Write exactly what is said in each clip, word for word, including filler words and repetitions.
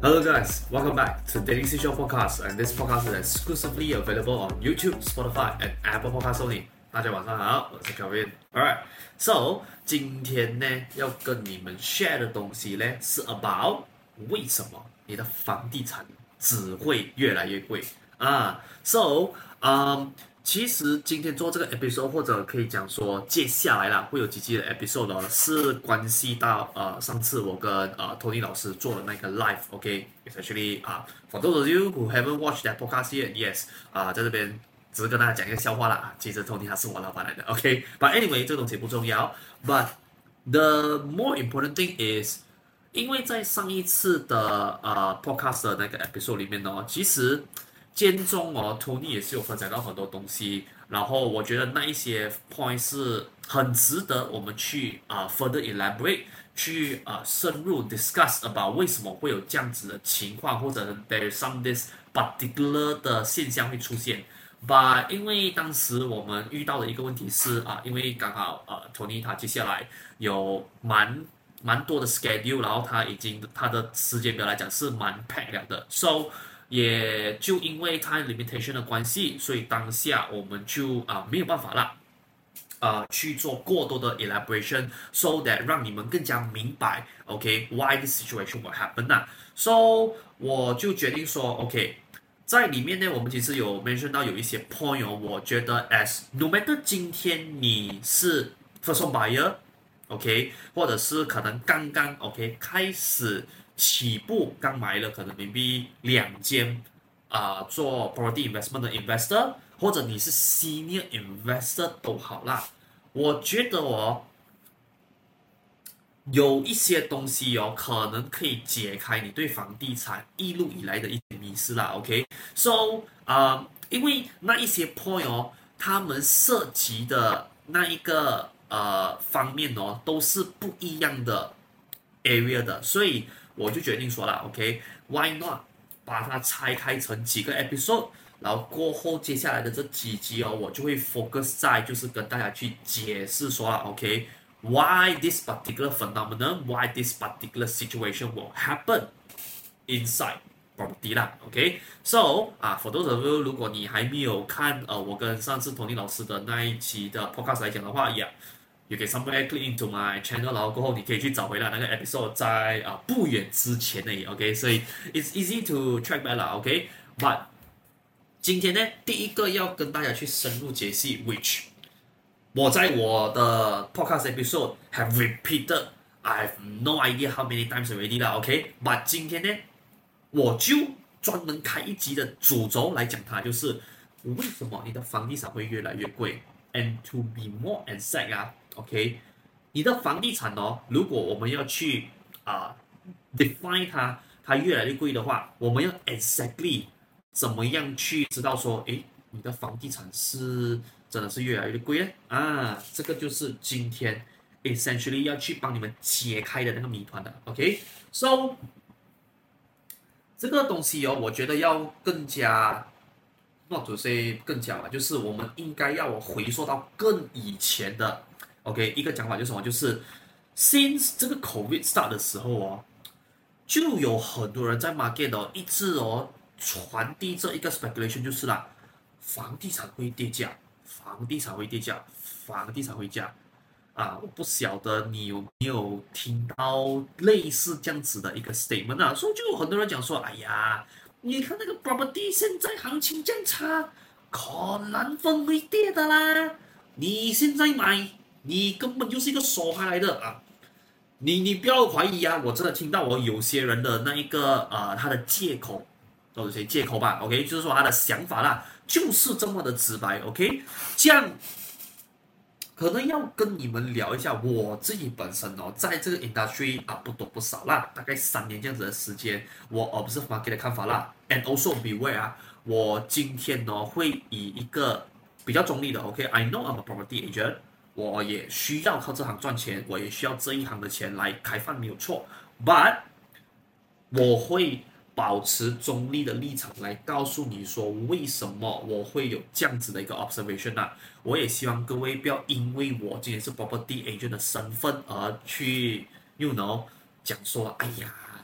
Hello guys, welcome back to Daily Seashore Podcast, and this podcast is exclusively available on YouTube, Spotify, and Apple Podcasts only. 大家晚上好，我是 Kevin。Alright, so 今天呢要跟你們 share 的東西呢是 about 為什麼你的房地產只會越來越貴啊。So, um. 其實今天做這個 episode 或者可以講說接下來啦會有幾集的 episode 呢，是關係到呃上次我跟呃 Tony 老師做的那個 live，OK，it's actually 啊、uh, for those of you who haven't watched that podcast yet，yes 啊、uh, 在這邊只是跟大家講一個笑話啦，其實 Tony 他是我老闆來的 ，OK，but anyway 這個東西不重要 ，but the more important thing is， 因為在上一次的呃 podcast 的那個 episode 裡面呢，其實間中哦 ，Tony 也是有分享到很多東西，然後我覺得那一些 point 是很值得我們去啊、uh, further elaborate， 去啊、uh, 深入 discuss about 為什麼會有這樣子的情況，或者 there is some this particular 的現象會出現。But 因為當時我們遇到的一個問題是啊，因為剛好呃 Tony 他接下來有蠻蠻多的 schedule， 然後他已經他的時間表來講是蠻 packed 了的 ，so。也就因為 time limitation 的關係，所以當下我們就啊、呃、沒有辦法啦，啊、呃、去做過多的 elaboration，so that 讓你們更加明白 ，OK why this situation will happen 啦。So 我就決定說 ，OK 在裡面呢，我們其實有 mention 到有一些 point 哦，我覺得 as no matter 今天你是 first home buyer，OK， 或者是可能剛剛 OK 開始。起步剛買了，可能 maybe 兩間啊、呃、做 property investment 的 investor， 或者你是 senior investor 都好啦。我覺得哦，有一些東西哦，可能可以解開你對房地產一路以來的一些迷思啦。OK，so 啊、呃，因為那一些 point 哦，他們涉及的那一個呃方面哦，都是不一樣的 area 的，所以。我就決定說了 ，OK，Why not 把它拆開成幾個 episode， 然後過後接下來的這幾集哦，我就會 focus 在就是跟大家去解釋說了 ，OK，Why this particular phenomenon，Why this particular situation will happen inside property 啦 ，OK，So 啊 ，for those of you 如果你還沒有看呃我跟上次 Tony 老師的那一期的 podcast 來講的話，yeah。You can somewhere click into my channel， 然後過後你可以去找回來那個 episode 在啊、呃、不遠之前而已 ，OK， 所以 it's easy to track back 啦 ，OK，but 今天呢，第一個要跟大家去深入解析 ，which 我在我的 podcast episode have repeated，I have no idea how many times already 啦 ，OK，but 今天呢，我就專門開一集的主軸來講它，就是為什麼你的房地產會越來越貴 ，and to be more exact 啊。OK， 你的房地產哦，如果我們要去啊、uh, define 它，它越來越貴的話，我們要 exactly 怎麼樣去知道說，誒，你的房地產是真的是越來越貴呢？啊，這個就是今天 essentially 要去幫你們解開的那個謎團的。OK，so 這個東西哦，我覺得要更加。not to say 更加吧，就是我們應該要回溯到更以前的 ，OK， 一個講法就是什麼？就是 since 這個 COVID start 的時候哦，就有很多人在 market 哦一直哦傳遞這一個 speculation 就是啦，房地產會跌價，房地產會跌價，房地產會價啊！我不曉得你有沒有聽到類似這樣子的一個 statement 啊？所以就有很多人講說，哎呀。你看那個 property 現在行情這樣差，可能分會跌的啦。你現在買，你根本就是一個傻孩來的啊！你你不要懷疑啊！我真的聽到我有些人的那一個呃他的借口，或者誰借口吧 ，OK， 就是說他的想法啦，就是這麼的直白 ，OK， 這樣。可能要跟你們聊一下我自己本身哦，在這個 industry 啊不多不少啦，大概三年這樣子的時間，我 observe market 的看法啦 ，and also beware 啊，我今天呢會以一個比較中立的 ，OK，I know I'm a property agent， 我也需要靠這行賺錢，我也需要這一行的錢來開飯沒有錯 ，but 我會保持中立的立場來告訴你說為什麼我會有這樣子的一個 observation 啊。我也希望各位不要因為我今天是 property agent 的身份而去 you know 講說，哎呀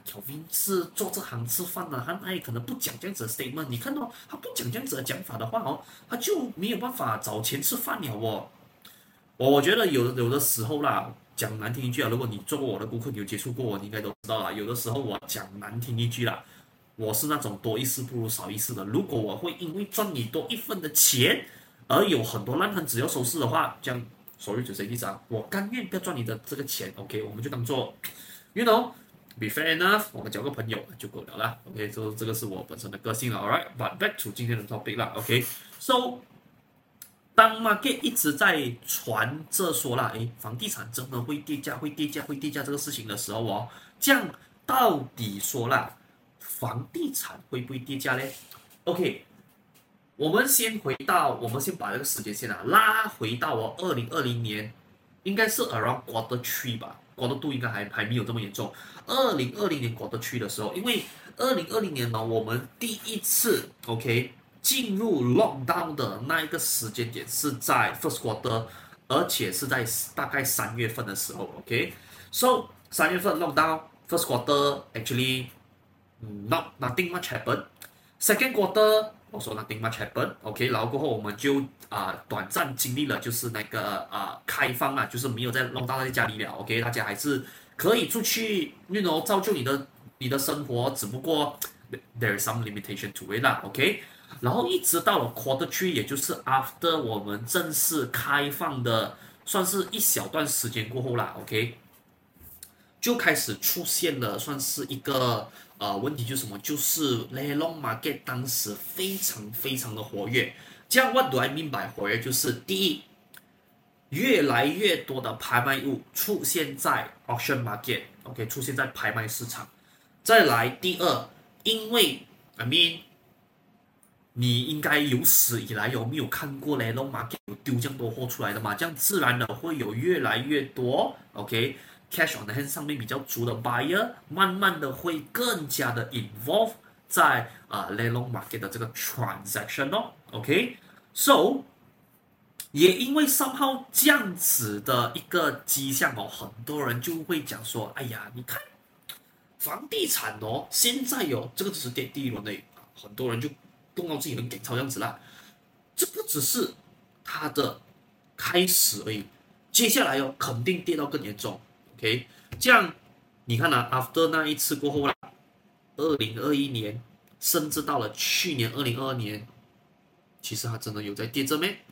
Kelvin 是做這行吃飯的，他哪裡可能不講這樣子的 statement？你看到他不講這樣子的講法的話哦，他就沒有辦法找錢吃飯了哦。我覺得有有的時候啦，講難聽一句啊，如果你做過我的顧客，你有接觸過我，你應該都知道啦。有的時候我講難聽一句啦，我是那種多一事不如少一事的。如果我會因為賺你多一份的錢，而有很多爛攤子要收拾的話，這樣 sorry to say this 啊，我甘願不要賺你的這個錢 ，OK， 我們就當做 you know。Be fair enough，我們交個朋友就夠了啦。OK， 這這個是我本身的個性了。Alright，but back to 今天的 topic 啦。OK，so， 當 market 一直在傳着說啦，誒，房地產真的會跌價、會跌價、會跌價這個事情的時候哦，這樣到底說啦，房地產會不會跌價呢 ？OK， 我們先回到，我們先把這個時間線啊拉回到哦，二零二零年，應該是 around quarter three 吧。quarter two 應該還還沒有這麼嚴重。二零二零年 quarter three 的時候，因為二零二零年呢，我們第一次 OK 進入 lockdown 的那一個時間點是在 first quarter， 而且是在大概三月份的時候 OK。So 三月份 lockdown first quarter actually not nothing much happen。second quarter also nothing much happen。OK， 然後過後我們就啊、呃、短暫經歷了就是那個啊、呃、開放啊，就是沒有在 lockdown 在家裡了 OK， 大家還是可以出去 you know 造就你的你的生活，只不過 there is some limitation to it 啦 OK。 然後一直到了 quarter three， 也就是 after 我們正式開放的算是一小段時間過後啦 OK， 就開始出現了算是一個呃問題，就是什麼，就是 Lelong Market 當時非常非常的活躍。這樣 what do I mean by 活躍？就是第一，越來越多的拍賣物出現在 auction market， OK， 出現在拍賣市場。再來第二，因為 I mean 你應該有史以來有沒有看過 Lelong Market 有丟這樣多貨出來的嘛？這樣自然的會有越來越多 OK。Cash on the hand 上面比較足的 buyer， 慢慢的會更加的 involve 在啊、呃、Lelong Market 的這個 transaction 哦 ，OK，so 也因為 somehow 這樣子的一個跡象哦，很多人就會講說，哎呀，你看房地產哦，現在哦，這個只是跌第一輪的，很多人就動到自己很給超這樣子啦，這個只是它的開始而已，接下來哦，肯定跌到更嚴重。OK， 這樣你看啊 ，after 那一次過後啦，二零二一年，甚至到了去年二零二二年，其實它真的有在跌着咩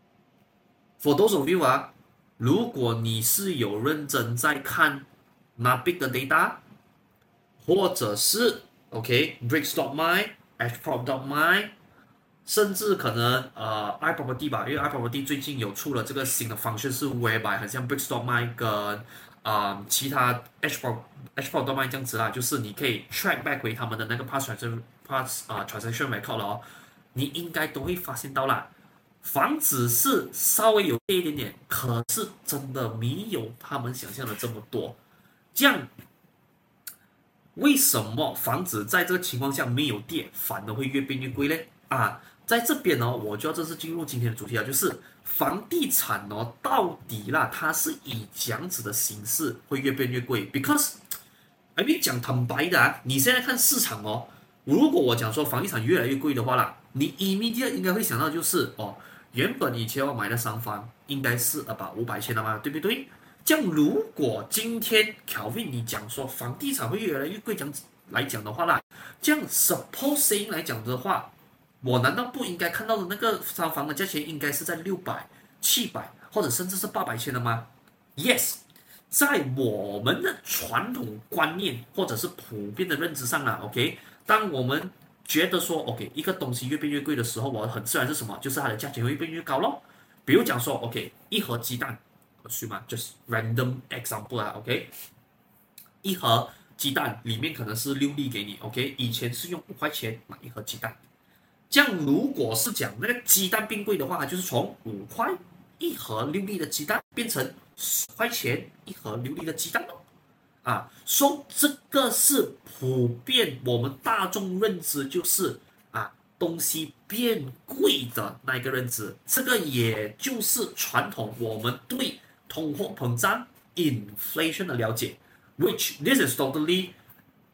？For those of you 啊，如果你是有認真在看 Nabik 的 data， 或者是 OK，Brickstock.my、Ashprop.my， 甚至可能呃 iProperty 吧，因為 iProperty 最近有出了這個新的 function， 是 whereby 很像 Brickstock.my 跟啊、嗯，其他 Ashprop Ashprop.my 這樣子啦，就是你可以 track back 回他們的那個 past transaction past 啊、uh, transaction record 了哦，你應該都會發現到啦，房子是稍微有跌一點點，可是真的沒有他們想象的這麼多。這樣，為什麼房子在這個情況下沒有跌，反而會越變越貴呢？啊，在這邊呢，我就要正式進入今天的主題了，就是房地產哦，到底啦，它是以這樣子的形式會越變越貴 ？Because，I mean 講坦白的啊，你現在看市場哦，如果我講說房地產越來越貴的話啦，你 immediate 應該會想到就是哦，原本以前我買的商房應該是about五百千的嘛，對不對？這樣如果今天 Kelvin 你講說房地產會越來越貴，這樣子來講的話啦，這樣 supposing 來講的話。我難道不應該看到的那個商房的價錢應該是在六百、七百或者甚至是八百千的嗎 ？Yes， 在我們的傳統觀念或者是普遍的認知上啦 ，OK， 當我們覺得說 OK 一個東西越變越貴的時候，我很自然是什麼？就是它的價錢會越變越高咯。比如講說 OK 一盒雞蛋，是嗎？就是 random example 啊 ，OK， 一盒雞蛋裡面可能是六粒給你 ，OK， 以前是用五塊錢買一盒雞蛋。這樣，如果是講那個雞蛋變貴的話，就是從五塊一盒六粒的雞蛋變成十塊錢一盒六粒的雞蛋咯。啊，說、so, 這個是普遍我們大眾認知，就是啊東西變貴的那一個認知。這個也就是傳統我們對通貨膨脹 inflation 的了解 ，which this is totally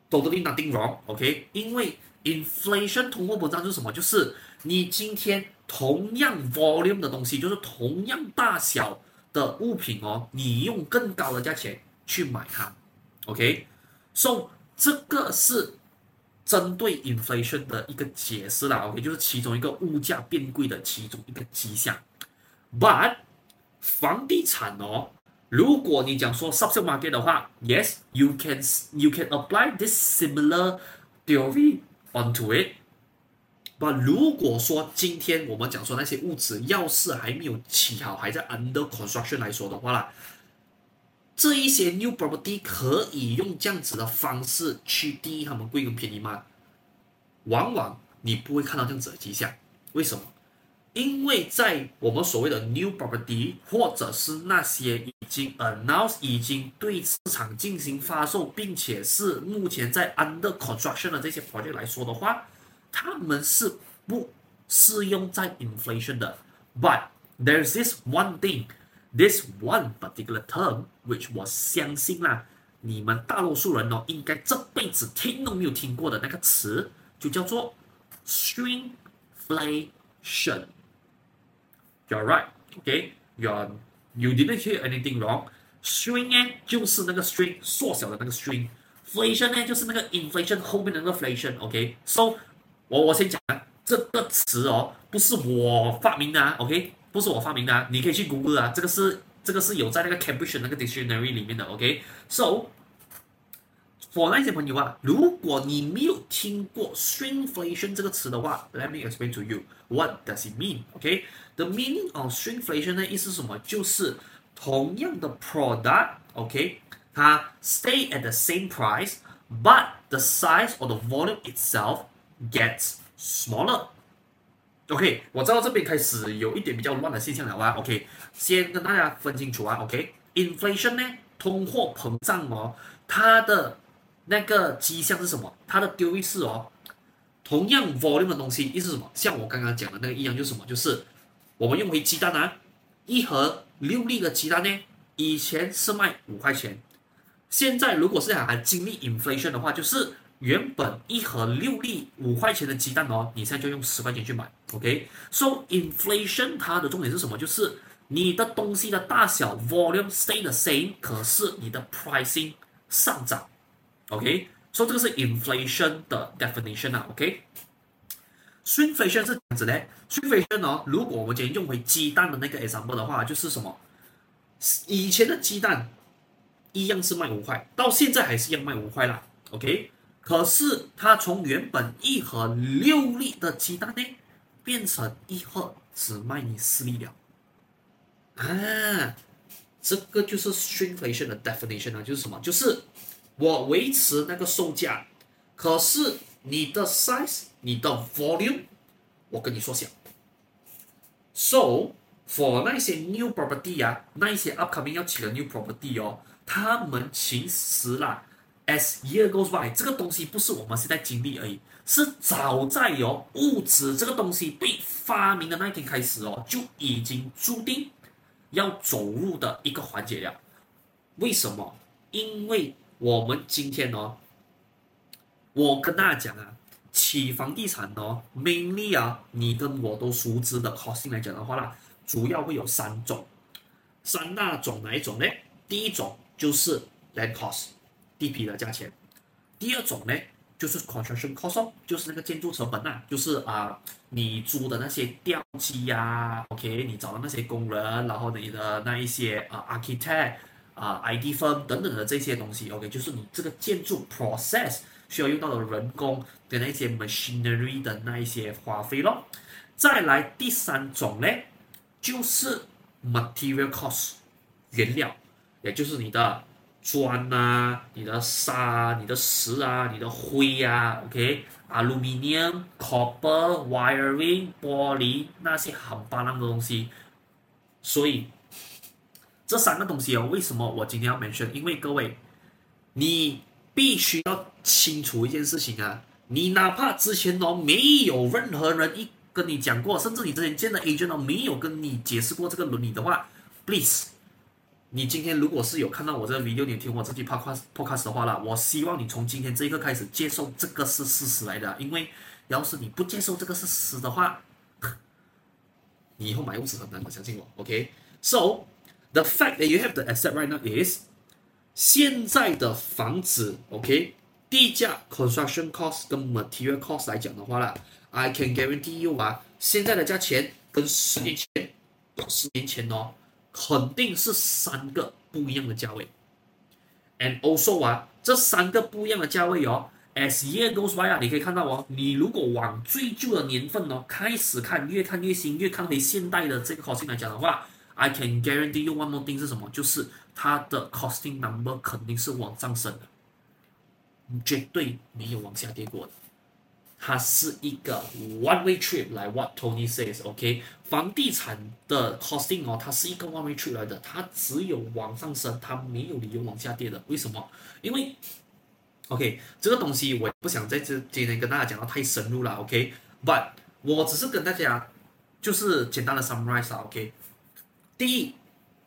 totally nothing wrong，OK？、Okay? 因為 inflation 通貨膨脹就是什麼？就是你今天同樣 volume 的東西，就是同樣大小的物品哦，你用更高的價錢去買它 ，OK？So 這個是針對 inflation 的一個解釋啦 ，OK？ 就是其中一個物價變貴的其中一個跡象。But 房地產哦，如果你講說 subsale market 的話 ，yes you can you can apply this similar theory onto it。But 如果說今天我們講說那些屋子要是還沒有起好，還在 under construction 來說的話啦，這一些 new property 可以用這樣子的方式去定義他們貴跟便宜嗎？往往你不會看到這樣子的跡象，為什麼？因為在我們所謂的 new property 或者是那些已經 announce 已經對市場進行發售，並且是目前在 under construction 的這些 project 來說的話，他們是不適用在 inflation 的。But there's this one thing, this one particular term, which 我相信啦，你們大多數人哦，應該這輩子聽都沒有聽過的那個詞，就叫做 shrinkflation。You're right, okay? You're, you didn't hear anything wrong. Shrink 呢，就是那個 shrink 縮小的那個 shrink。Inflation 呢，就是那個 inflation 後面的那個 inflation。OK，so 我我先講啊，這個詞哦，不是我發明的啊 ，OK， 不是我發明的啊，你可以去 Google 啊，這個是這個是有在那個 Cambridge 那個 dictionary 裡面的 ，OK，so for 那些朋友啊，如果你沒有聽過 shrinkflation 這個詞的話 ，let me explain to you what does it mean，OK，the meaning of shrinkflation 的意思是什麼？就是同樣的 product，OK，它 stay at the same price，but the size or the volume itself gets smaller。OK， 我知道這邊開始有一點比較亂的現象了啊。OK， 先跟大家分清楚啊。OK，inflation 呢，通貨膨脹哦，它的那個跡象是什麼？它的丟位是哦，同樣 volume 的東西，意思是什麼？像我剛剛講的那個一樣，就是什麼？就是我們用回雞蛋啊，一盒六粒的雞蛋呢，以前是賣五塊錢，現在如果是還經歷 inflation 的話，就是原本一盒六粒五塊錢的雞蛋哦，你現在就用十塊錢去買。OK，so inflation 它的重點是什麼？就是你的東西的大小 volume stay the same， 可是你的 pricing 上漲。OK，so 這個是 inflation 的 definition 啊。OK，shrinkflation 是這樣子的 ，shrinkflation 哦，如果我們今天用回雞蛋的那個 example 的話，就是什麼？以前的雞蛋一樣是賣五塊，到現在還是一樣賣五塊啦。OK， 可是它從原本一盒六粒的雞蛋呢，變成一盒只賣你四粒了。啊，這個就是 shrinkflation 的 definition 啊，就是什麼？就是我維持那個售價，可是你的 size、你的 volume， 我跟你縮小。So for 那些 new property 啊，那一些 upcoming 要起的 new property 哦，他們其實啦 ，as year goes by， 這個東西不是我們現在經歷而已，是早在哦物質這個東西被發明的那一天開始哦，就已經注定要走入的一個環節了。為什麼？因為我們今天哦，我跟大家講啊，起房地產哦 ，mainly 啊，你跟我都熟知的 costing 來講的話啦，主要會有三種，三大種哪一種呢？第一種就是 land cost， 地皮的價錢；第二種呢，就是 construction cost， 就是那個建築成本啊，就是啊、呃，你租的那些吊機呀 ，OK， 你找的那些工人，然後你的那一些啊、呃、architect。啊、uh,，I T firm 等等的這些東西 ，OK， 就是你這個建築 process 需要用到的人工跟那些 machinery 的那一些花費咯。再來第三種呢，就是 material cost 原料，也就是你的磚啊、你的沙、你的石啊、你的灰啊 ，OK，aluminium、copper、wiring、玻璃那些很巴爛的東西，所以。這三個東西哦，為什麼我今天要 mention？ 因為各位，你必須要清楚一件事情啊，你哪怕之前哦沒有任何人一跟你講過，甚至你之前見的 agent 哦沒有跟你解釋過這個倫理的話 ，please 你今天如果是有看到我這個 video，你有聽我這期 podcast podcast 的話啦，我希望你從今天這一刻開始接受這個是事實來的，因為要是你不接受這個是事實的話，你以後買屋子很難的，相信我。OK，so the fact that you have to accept right now is 現在的房子 OK 地價 construction cost 跟 material cost 來講的話啦 ，I can guarantee you 啊，現在的價錢跟十年前、十年前哦。肯定是三個不一樣的價位 ，and also 啊，這三個不一樣的價位哦 ，as year goes by 啊，你可以看到哦，你如果往最舊的年份哦開始看，越看越新，越看回現代的這個 costing 來講的話 ，I can guarantee you one more thing 是什麼？就是它的 costing number 肯定是往上升的，絕對沒有往下跌過的。它是一個 one way trip 來 what Tony says，OK， 房地產的 costing 哦，它是一個 one way trip 來的，它只有往上升，它沒有理由往下跌的。為什麼？因為 OK 這個東西我也不想在這今天跟大家講到太深入了 ，OK，but 我只是跟大家就是簡單的 summarize 啊 ，OK， 第一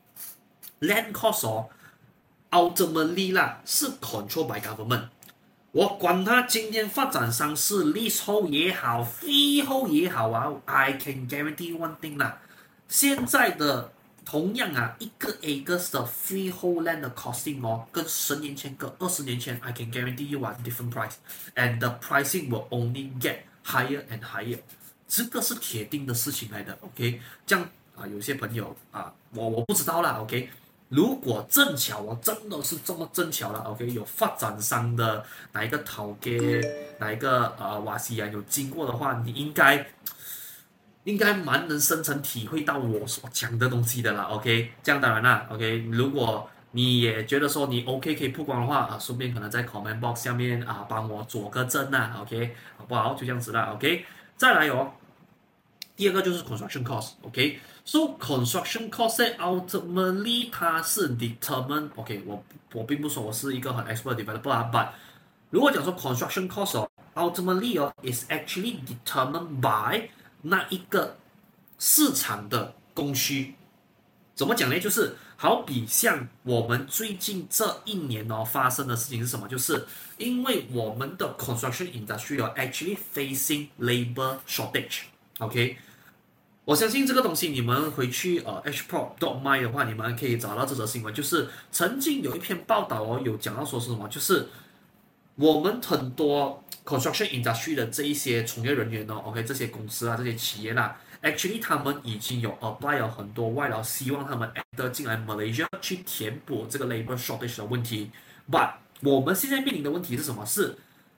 land cost 哦 ultimately 啦是 control by government。我管他今天發展商是 leasehold 也好 freehold 也好啊 ，I can guarantee one thing 啦，現在的同樣啊一個 acres 的 freehold land 的 costing 哦，跟十年前跟二十年前 I can guarantee you a different price and the pricing will only get higher and higher， 這個是鐵定的事情來的 ，OK， 這樣啊有些朋友啊我我不知道啦 ，OK。如果正巧我真的是這麼正巧了 ，OK， 有發展商的哪一個頭家，哪一個呃瓦西人有經過的話，你應該應該蠻能深層體會到我所講的東西的啦 ，OK， 這樣當然啦 ，OK， 如果你也覺得說你 OK 可以曝光的話啊，順便可能在 comment box 下面啊幫我佐個證啦 ，OK， 好不好？就這樣子啦 ，OK， 再來哦，第二個就是 construction cost，OK。So construction cost ultimately 它是 determine，OK， 我我並不說我是一個很 expert developer 啊 ，but 如果講說 construction cost 哦 ，ultimately 哦 is actually determined by 那一個市場的供需。怎麼講呢？就是好比像我們最近這一年哦發生的事情是什麼？就是因為我們的 construction industry 哦 actually facing labor shortage，OK。我相信這個東西，你們回去呃 h p r o dot my 的話，你們可以找到這則新聞，就是曾經有一篇報道哦，有講到說是什麼，就是我們很多 construction industry 的這一些從業人員哦 ，OK， 這些公司啊，這些企業啦 ，actually 他們已經有 apply 了很多外勞，希望他們 enter 進來 Malaysia 去填補這個 labor shortage 的問題。But 我們現在面臨的問題是什麼？是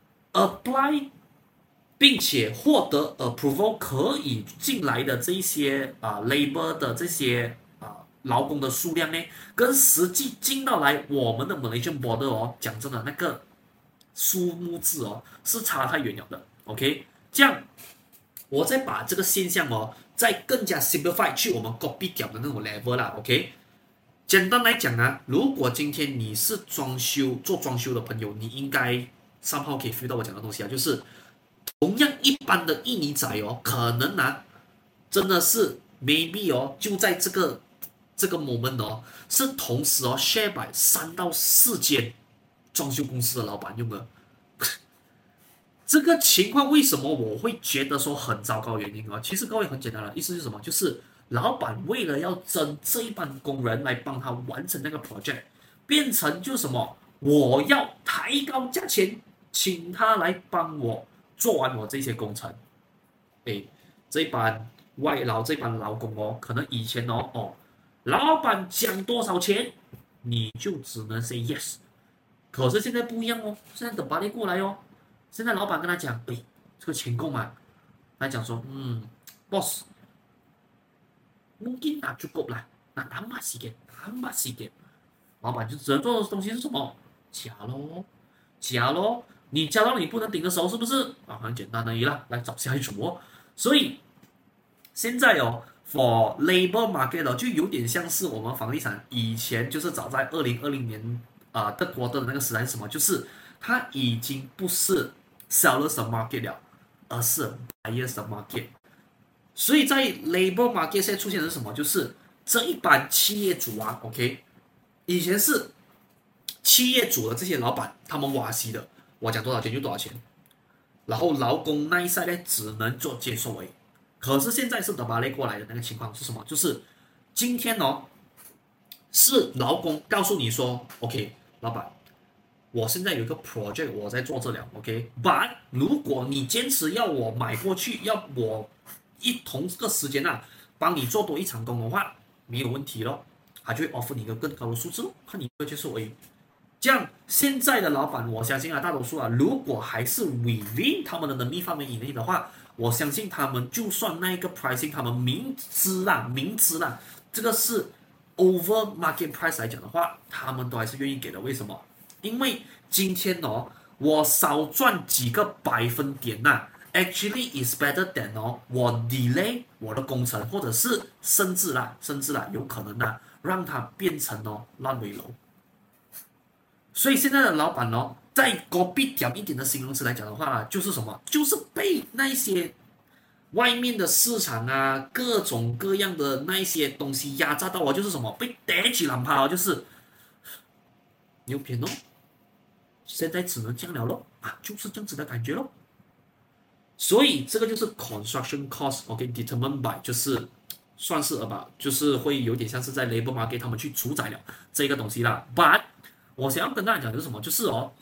apply。並且獲得 approval 可以進來的這些啊、呃、labor 的這些啊、呃、勞工的數量呢，跟實際進到來我們的 Malaysian border 哦，講真的那個數目字哦是差太遠了的 ，OK， 這樣我再把這個現象哦再更加 simplify 去我們 copy 掉的那種 level 啦 ，OK， 簡單來講啊，如果今天你是裝修做裝修的朋友，你應該somehow可以 feel 到我講的東西啊，就是同樣一般的印尼仔哦，可能啊，真的是 maybe 哦，就在這個這個 moment 哦，是同時哦 share by 三到四間裝修公司的老闆用的。這個情況為什麼我會覺得說很糟糕的原因啊？其實各位很簡單的意思是什麼？就是老闆為了要爭這一班工人來幫他完成那個 project， 變成就什麼？我要抬高價錢，請他來幫我做完我這些工程，誒，這班外勞這班勞工哦，可能以前哦哦，老闆講多少錢，你就只能 say yes。可是現在不一樣哦，現在等巴黎過來哦，現在老闆跟他講，誒，這個錢夠嗎？他講說，嗯 ，boss， mungkin tak cukup lah，那 tambah sikit，tambah sikit。老闆就只能做的東西是什麼？加咯，加咯。你加到你不能頂的時候，是不是啊？很簡單而已啦，來找下一組哦。所以現在哦 ，for labor market 哦，就有點像是我們房地產以前就是早在二零二零年啊的國的那個時代是什麼？就是它已經不是 sellers 的 market 了，而是 buyers 的 market。所以在 labor market 現在出現的是什麼？就是這一班企業主啊 ，OK， 以前是企業主的這些老闆，他們挖西的，我講多少錢就多少錢，然後勞工那一賽呢只能做接受而已。可是現在是德巴雷過來的那個情況是什麼？就是今天哦，是勞工告訴你說 ，OK， 老闆，我現在有一個 project 我在做這了 ，OK，but 如果你堅持要我買過去，要我一同這個時間啊，幫你做多一場工的話，沒有問題咯，他就會 offer 你一個更高的數字，看你會接受而已。這樣現在的老闆，我相信啊，大多數啊，如果還是 within 他們的能力範圍以內的話，我相信他們就算那個 pricing， 他們明知啦，明知啦，這個是 over market price 來講的話，他們都還是願意給的。為什麼？因為今天哦，我少賺幾個百分點吶、啊、，actually is better than 哦，我 delay 我的工程，或者是甚至啦，甚至啦，有可能啊，讓它變成哦爛尾樓。所以現在的老闆哦，在隔壁講一點的形容詞來講的話，就是什麼？就是被那些外面的市場啊，各種各樣的那一些東西壓榨到哦，就是什麼？被逮起攬趴哦，就是牛片哦。現在只能這樣了咯，啊，就是這樣子的感覺咯。所以這個就是 construction cost，OK，determined by，就是算是吧，就是會有點像是在 labor market 他們去主宰了這個東西啦。But 我想要跟大家講的是什麼？就是哦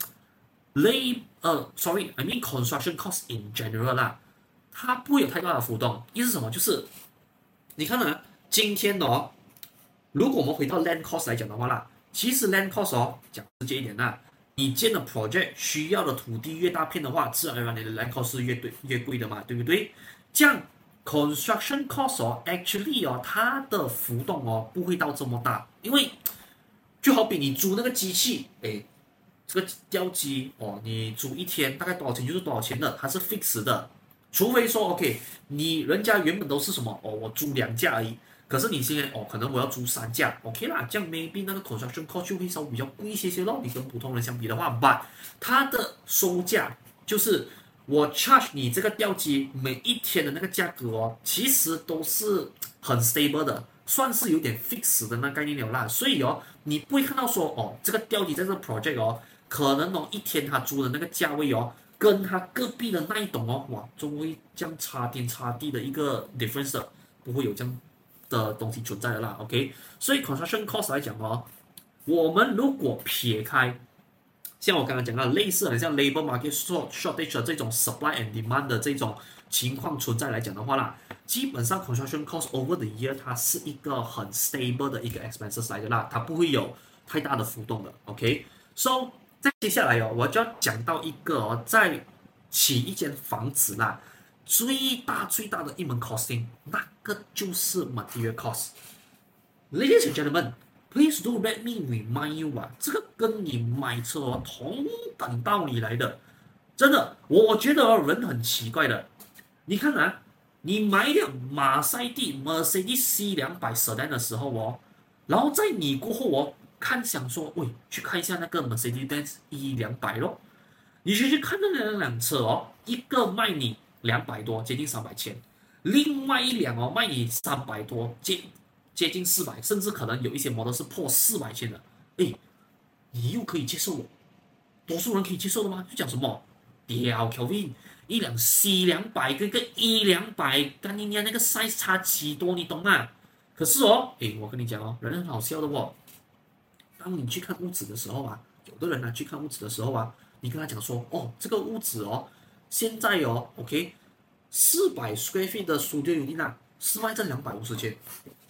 ，lay 呃，sorry，I mean construction cost in general 啦，它不會有太大的浮動。意思是什麼？就是你看啊，今天哦，如果我們回到 land cost 來講的話啦，其實 land cost 哦，講直接一點啦，你建的 project 需要的土地越大片的話，自然而然你的 land cost 是越對越貴的嘛，對不對？這樣 construction cost 哦 ，actually 哦，它的浮動哦不會到這麼大，因為就好比你租那個機器，哎，這個吊機哦，你租一天大概多少錢就是多少錢的，它是 fix 的。除非說 OK，你人家原本都是什麼哦，我租兩架而已，可是你現在哦，可能我要租三架 ，OK 啦，這樣 maybe 那個 construction cost 就會稍微比較貴一些些咯。你跟普通人相比的話 ，but 它的收價就是我 charge 你這個吊機每一天的那個價格哦，其實都是很 stable 的。算是有點 fix 的那概念了啦，所以哦，你不會看到說哦，這個吊機在這個 project 哦，可能哦一天他租的那個價位哦，跟他隔壁的那一棟哦，哇，就會這樣差天差地的一個 difference 的，不會有這樣的東西存在的啦 ，OK？ 所以 construction cost 來講哦，我們如果撇開像我剛剛講的類似很像 labor market shortage 的這種 supply and demand 的這種情況存在來講的話啦，基本上 construction cost over the year 它是一個很 stable 的一個 expenses 來的啦，它不會有太大的浮動的 ，OK？So 再接下來哦，我就要講到一個哦，在起一間房子啦，最大最大的一門 costing， 那個就是 material cost。Ladies and gentlemen，please do let me remind you 啊，這個跟你買車哦同等道理來的，真的，我覺得哦人很奇怪的，你看啊。你買輛馬賽蒂 Mercedes C 兩百 Sedan 的時候哦，然後在你過後哦，看想說，喂，去看一下那個 Mercedes-Benz E 兩百咯，你去去看那兩輛車哦，一個賣你兩百多，接近三百千，另外一輛哦賣你三百多，接接近四百，甚至可能有一些 model 是破四百千的，誒，你又可以接受了，多數人可以接受的嗎？就講什麼，屌 Kelvin。一輛 C 兩百跟一個 E 兩百，跟人家那個 size 差幾多，你懂嗎？可是哦，誒，我跟你講哦，人很好笑的哦。當你去看屋子的時候啊，有的人呢、啊、去看屋子的時候啊，你跟他講說，哦，這個屋子哦，現在哦 ，OK， 四百 square feet 的 studio unit 啊，是賣這兩百五十千，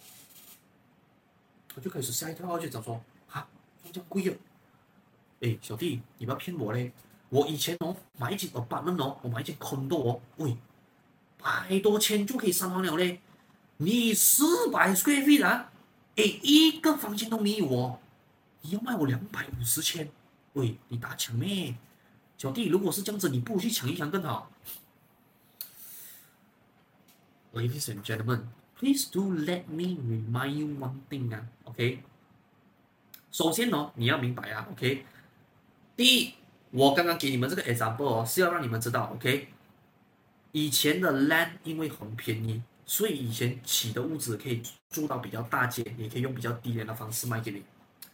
我就開始嚇一跳，就講說，哈，這樣貴啊！誒，小弟，你不要騙我嘞。我以前哦買一間 apartment 哦，我買一間 condo 哦，喂，百多千就可以上完了嘞。你四百 square feet 啊，誒，一個房間都沒有哦，你要賣我兩百五十千，喂，你打搶咩？小弟，如果是這樣子，你不如去搶一搶更好。Ladies and gentlemen, please do let me remind you one thing 啊 ，OK？ 首先哦，你要明白啊 ，OK？ 第一。我剛剛給你們這個 example 哦，是要讓你們知道 ，OK？ 以前的 land 因為很便宜，所以以前起的屋子可以住到比較大間，也可以用比較低廉的方式賣給你。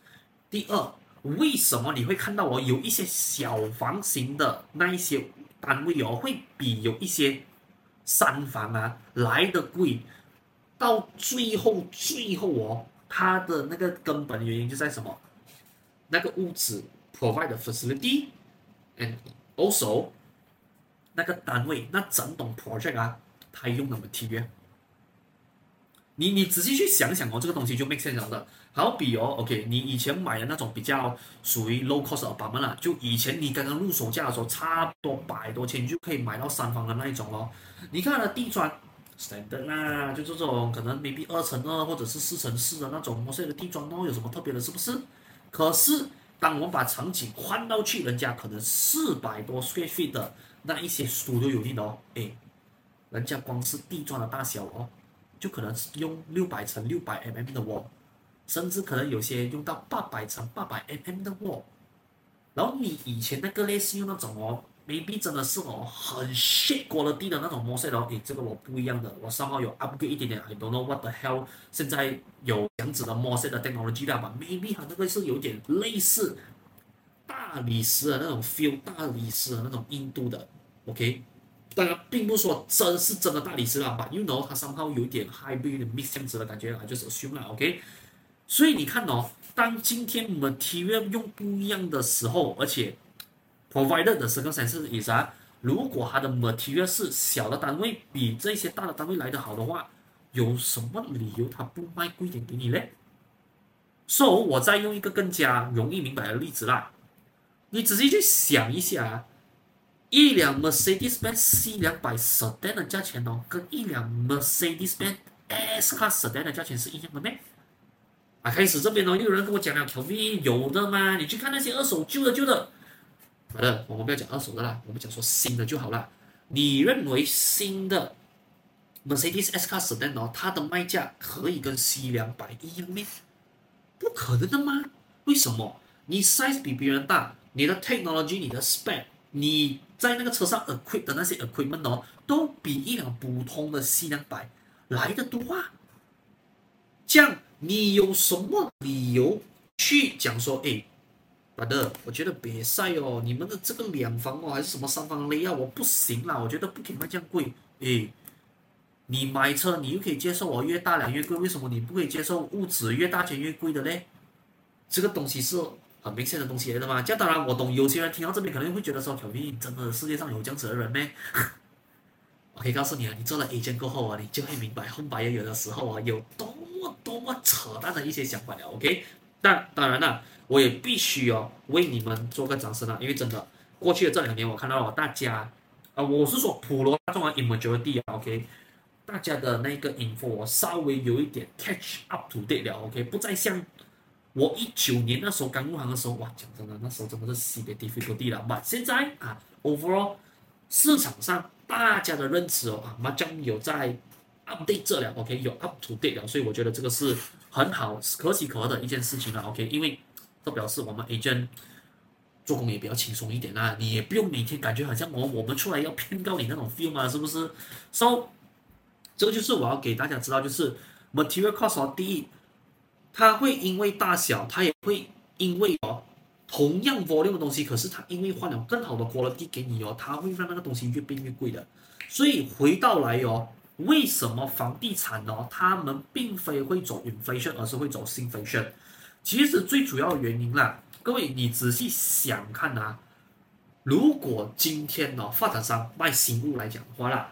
第二，為什麼你會看到我有一些小房型的那一些單位哦，會比有一些三房啊來得貴？到最後，最後哦，它的那個根本原因就在什麼？那個屋子 provide the facility and also 那個單位，那整棟 project 啊，它用的 material。你你仔細去想想哦，這個東西就 make sense 了的。好比哦 ，OK， 你以前買的那種比較屬於 low cost apartment 啦，就以前你剛剛入手價的時候，差不多百多千就可以買到三房的那一種哦。你看它的地磚 standard 啦，就這種可能 maybe 二乘二或者是四乘四的那種摩塞的地磚哦，有什麼特別的，是不是？可是當我們把場景換到去人家可能四百多 square feet 的那一些 studio unit哦，誒，人家光是地磚的大小哦，就可能是用六百乘六百 mm 的 wall。甚至可能有些用到八百乘八百 mm 的 wall， 然後你以前那個類似用那種哦 ，maybe 真的是哦很 shit quality的那種 mosaic 哦，誒，這個我不一樣的，我稍微有 upgrade 一點點 ，I don't know what the hell， 現在有這樣子的 mosaic 的 technology 啦吧 ，maybe 它那個是有點類似大理石的那種 feel， 大理石的那種硬度的 ，OK， 當然並不是說真是真的大理石啦吧 ，you know 它 somehow 有點 hybrid 有點 mix 這樣子的感覺啦，就是 assume 啦 ，OK。所以你看哦，當今天 material 用不一樣的時候，而且 provided 的 circumstances is 啊，如果它的 material 是小的單位比這些大的單位來得好的話，有什麼理由它不賣貴點給你呢？所以我再用一個更加容易明白的例子啦，你仔細去想一下，一輛 Mercedes-Benz C 兩百 sedan 的價錢哦，跟一輛 Mercedes-Benz S-Class sedan 的價錢是一樣的咩？啊，開始這邊哦，又有人跟我講了 ，Kelvin 有的嗎？你去看那些二手舊的舊的，好的，我們不要講二手的啦，我們講說新的就好了。你認為新的 Mercedes S-Class sedan 哦，它的賣價可以跟 C 兩百一樣咩？不可能的嗎？為什麼？你 size 比別人大，你的 technology、你的 spec， 你在那個車上 equip 的那些 equipment 哦，都比一輛普通的 C 兩百來得多啊。這樣。你有什麼理由去講說，哎，brother，我覺得別曬哦，你們的這個兩房哦，還是什麼三房雷啊，我不行啦，我覺得不可以賣這樣貴。哎，你買車你又可以接受我越大輛越貴，為什麼你不可以接受屋子越大間越貴的嘞？這個東西是很明顯的東西來的嘛。這樣當然我懂，有些人聽到這邊可能會覺得說，小明真的世界上有這樣子的人咩？我可以告訴你啊，你做了 agent 過後啊，你就會明白 home buyer 有的時候啊有多麼多麼扯淡的一些想法了 ，OK？ 但當然了，我也必須哦為你們做個掌聲啊，因為真的過去的這兩年我看到了大家啊、呃，我是說普羅大眾啊 ，majority 啊 ，OK？ 大家的那個 info 稍微有一點 catch up to date 了 ，OK？ 不再像我一九年那時候剛入行的時候，哇，講真的，那時候真的是西北 difficulty 了。但現在啊 ，overall 市場上大家的認知哦啊，麻將有在 update 這了 ，OK？ 有 up to date 了，所以我覺得這個是很好、可喜可賀的一件事情了 ，OK？ 因為這表示我們 agent 做工也比較輕鬆一點啦，你也不用每天感覺好像我我們出來要騙告你那種 feel 嘛，是不是 ？So 這個就是我要給大家知道，就是 material cost 哦，第一，它會因為大小，它也會因為哦同樣 volume 的東西，可是它因為換了更好的 quality 給你哦，它會讓那個東西越變越貴的。所以回到來哦，為什麼房地產哦，他們並非會走 inflation， 而是會走 shrinkflation？ 其實最主要的原因啦，各位你仔細想看啊，如果今天哦發展商賣新屋來講的話啦。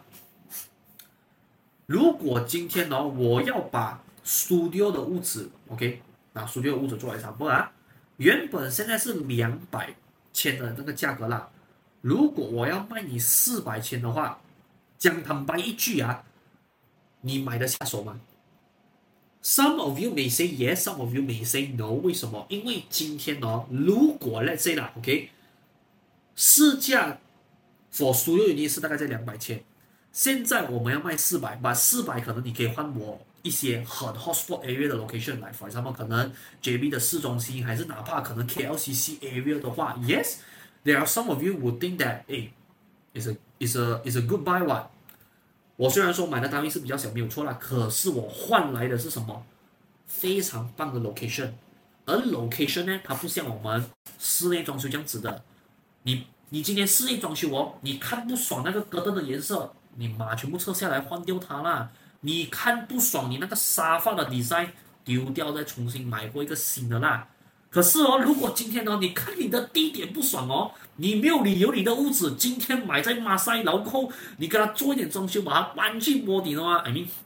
如果今天呢、哦，我要把 studio 的屋子 ，OK， 拿 studio 的屋子做來參考啊，原本現在是兩百千的那個價格啦。如果我要賣你四百千的話，講坦白一句啊，你買得下手嗎 ？Some of you may say yes, some of you may say no。為什麼？因為今天哦，如果 let's say 啦 ，OK， 市價 for studio unit 是大概在兩百千。現在我們要賣四百，把四百可能你可以換我一些很 hotspot area 的 location 來 ，for example 可能 J B 的市中心，還是哪怕可能 K L C C area 的話 ，yes， there are some of you would think that，哎 ，is a is a is a good buy one。我雖然說買的單位是比較小，沒有錯啦，可是我換來的是什麼？非常棒的 location， 而 location 呢，它不像我們室內裝修這樣子的，你你今天室內裝修哦，你看不爽那個隔燈的顏色，你把全部撤下來換掉它啦。你看不爽你那個沙發的 design 丟掉，再重新買過一個新的啦。可是哦，如果今天哦，你看你的地點不爽哦，你沒有理由你的屋子今天買在馬賽，然後你給它做一點裝修，把它搬去波底的話 I mean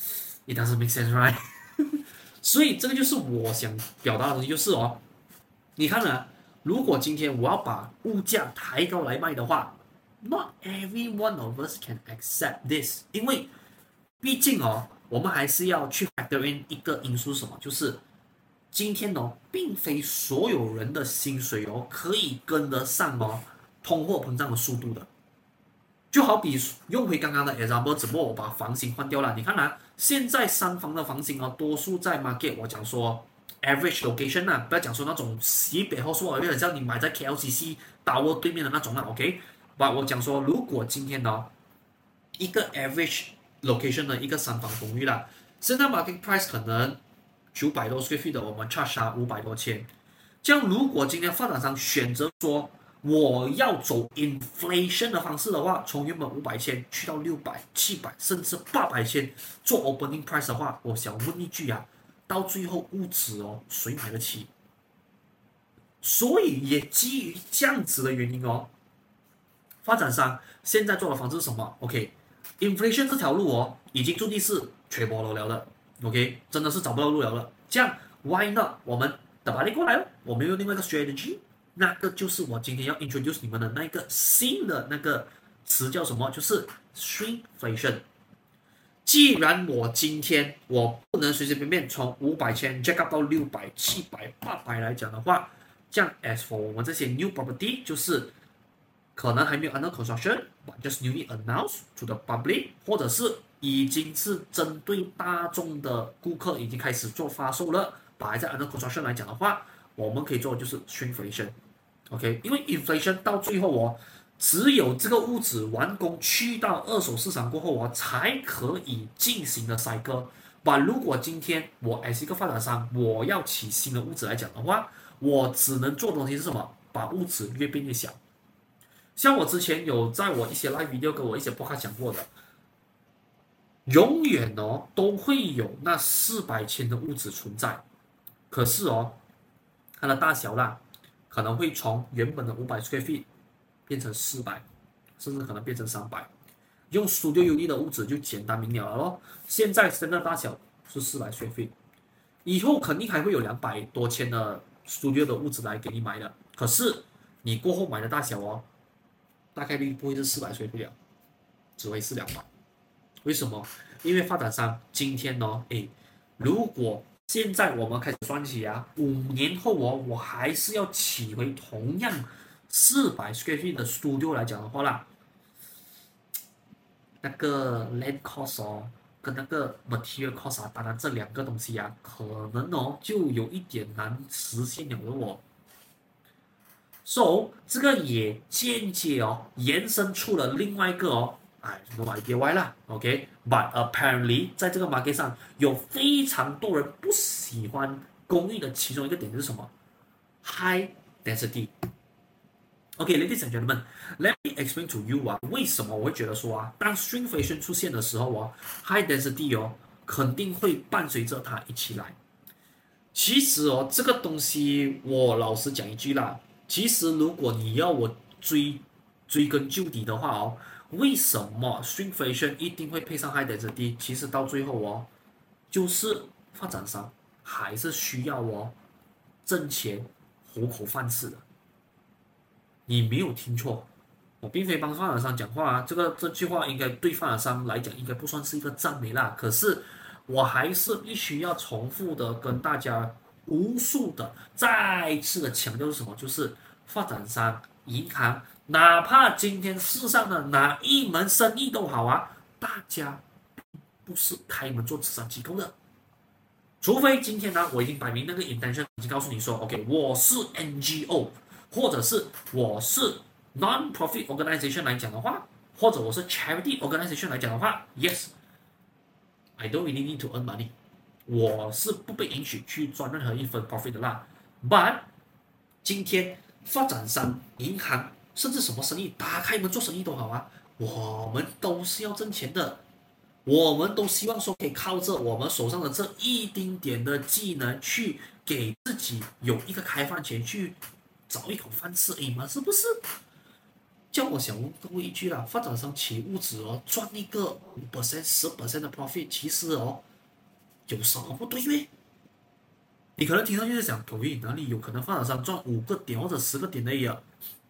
it doesn't make sense, right? 所以這個就是我想表達的東西，就是哦，你看啊，如果今天我要把物價抬高來賣的話 ，not every one of us can accept this， 因為畢竟哦，我們還是要去 factor in 一個因素是什麼，就是今天哦，並非所有人的薪水哦可以跟得上哦通貨膨脹的速度的。就好比用回剛剛的 example， 只不過我把房型換掉了。你看啊，現在三房的房型哦，多數在 market， 我講說 average location 啊，不要講說那種西北後說，有點像你買在 K L C C Tower 對面的那種啦 ，OK？ 把我講說，如果今天哦，一個 average location 的一個三房公寓啦，現在 market price 可能九百多 square feet 的，我們 charge 它五百多千。這樣如果今天發展商選擇說，我要走 inflation 的方式的話，從原本五百千去到六百、七百，甚至八百千做 opening price 的話，我想問一句啊，到最後屋子哦，誰買得起？所以也基於這樣子的原因哦，發展商現在做的方式是什麼 ？OK，inflation、okay, 這條路哦，已經注定是缺波了了的 ，OK， 真的是找不到路了了。這樣 why not 我們打把你過來了，我們用另外一個 strategy。那個就是我今天要 introduce 你們的那個新的那個詞叫什麼？就是 shrinkflation。既然我今天我不能隨隨便便從五百千 jack up 到六百、七百、八百來講的話，這樣 as for 我們這些 new property， 就是可能還沒有 under construction，but just newly announced to the public， 或者是已經是針對大眾的顧客已經開始做發售了，把還在 under construction 來講的話，我們可以做的就是 shrinkflation。OK， 因為 inflation 到最後哦，只有這個屋子完工去到二手市場過後哦，才可以進行的 cycle。但如果今天我 as 一個發展商，我要起新的屋子來講的話，我只能做的東西是什麼？把屋子越變越小。像我之前有在我一些 live video 跟我一些 podcast 講過的，永遠哦都會有那四百千的屋子存在，可是哦，它的大小啦。可能會從原本的五百 square feet 變成四百，甚至可能變成三百。用 Studio Unit 的屋子就簡單明了了咯。現在真的大小是四百 square feet， 以後肯定還會有兩百多千的 Studio 的屋子來給你買的。可是你過後買的大小哦，大概率不會是四百 square feet 了，只會是兩百。為什麼？因為發展商今天哦，誒，如果現在我們開始算起啊，五年後哦，我還是要起回同樣四百 square feet 的 studio 來講的話啦，那個 land cost 哦，跟那個 material cost 啊，當然這兩個東西啊，可能哦就有一點難實現了的哦。So 這個也間接哦延伸出了另外一個哦。哎 ，no idea why 啦 ，OK，but、okay? apparently 在這個 market 上有非常多人不喜歡公寓的其中一個點是什麼 ？High density。OK，ladies、okay, and gentlemen，let me explain to you 啊，為什麼我會覺得說啊，當 shrinkflation 出現的時候哦 ，high density 哦，肯定會伴隨着它一起來。其實哦，這個東西我老實講一句啦，其實如果你要我追追根究底的話哦。為什麼 shrinkflation 一定會配上 high density？ 其實到最後哦，就是發展商還是需要哦掙錢糊口飯吃的。你沒有聽錯，我並非幫發展商講話啊。這個這句話應該對發展商來講應該不算是一個讚美啦。可是我還是必須要重複的跟大家無數的再次的強調是什麼？就是發展商、銀行。哪怕今天世上的哪一門生意都好啊，大家不是開門做慈善機構的，除非今天呢，我已經擺明那個 intention 已經告訴你說 ，OK， 我是 N G O， 或者是我是 non-profit organization 來講的話，或者我是 charity organization 來講的話 ，yes，I don't really need to earn money， 我是不被允許去賺任何一分 profit 的啦。But 今天發展商、銀行甚至什麼生意，打開門做生意都好啊，我們都是要掙錢的。我們都希望說可以靠着我們手上的這一丁點的技能，去給自己有一個開飯錢，去找一口飯吃，哎嘛，是不是？叫我想問各位一句啦，發展商起物質哦，賺一個五 percent、十 percent 的 profit， 其實哦，有什麼不對咩？你可能聽到就是想，各位哪裡有可能發展商賺五個點或者十個點而已啊？